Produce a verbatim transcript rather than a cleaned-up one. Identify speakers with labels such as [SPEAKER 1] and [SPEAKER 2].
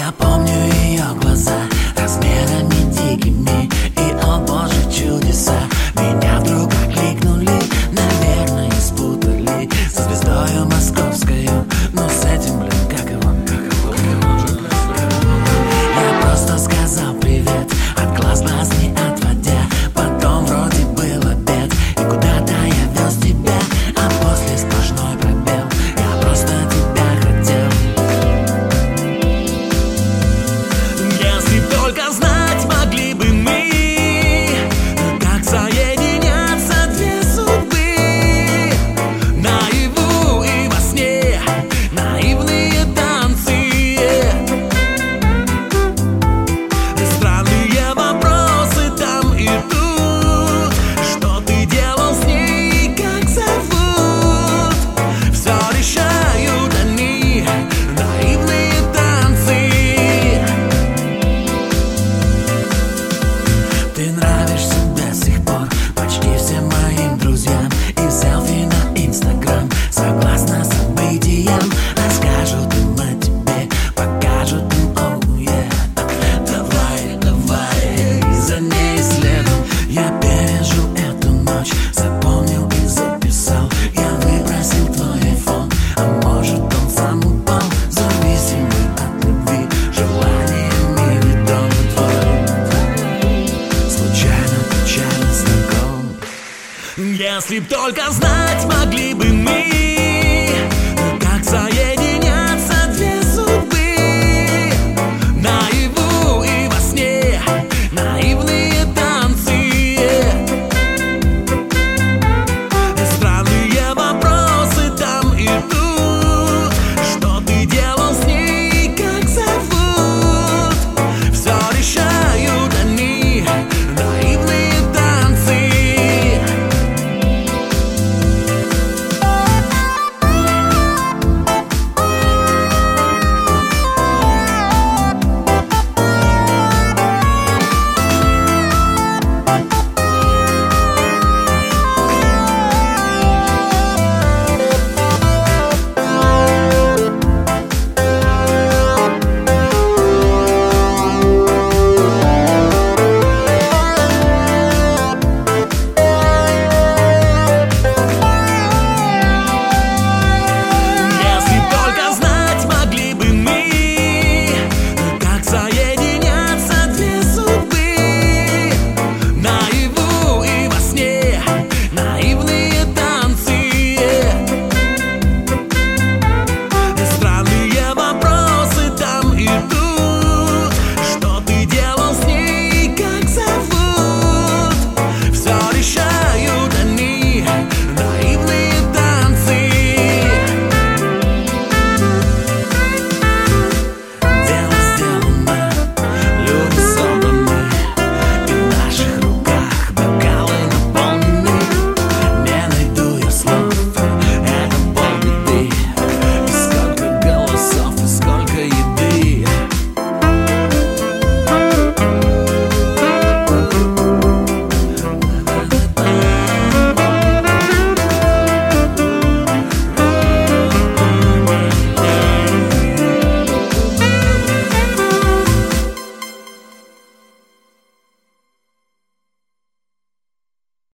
[SPEAKER 1] Я помню ее глаза размерами дикими, и, о боже, чудеса меня вдруг окликнули. Наверное, спутали со звездою московскою, но с этим, блин, как его, как его, как его. Я просто сказал привет, от глаз глаз не отводя. Потом вроде был обед, и куда-то я вез тебя, а после сплошной пробел. Я просто тебя хотел. Если б только знать могли бы мы, как соединятся две судьбы. Наяву и во сне наивные танцы, странные вопросы там и тут. Что ты делал с ней, как зовут? Все решают они, наивные танцы. Ты нравишься до сих пор почти всем моим друзьям, и селфи на Инстаграм согласно событиям расскажут им о тебе, покажут им, оу, yeah. Давай, давай, и за ней следом. Я пережил эту ночь, запомнил и записал. Я выбросил твой айфон, а может он сам упал, зависимый от любви, желаниями ведомый твой случайно, печально знаком. Если б только знать